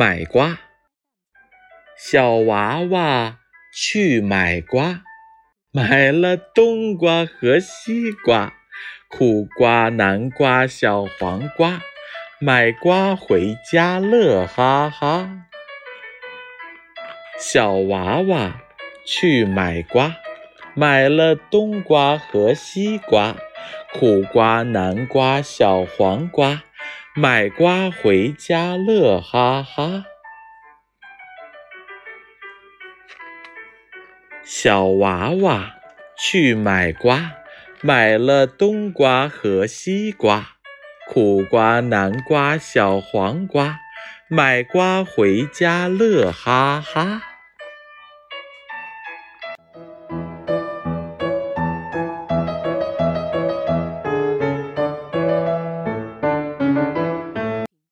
买瓜。小娃娃去买瓜，买了冬瓜和西瓜，苦瓜、南瓜、小黄瓜，买瓜回家乐哈哈。小娃娃去买瓜，买了冬瓜和西瓜，苦瓜、南瓜、小黄瓜，买瓜回家乐哈哈。小娃娃去买瓜，买了冬瓜和西瓜，苦瓜、南瓜、小黄瓜，买瓜回家乐哈哈。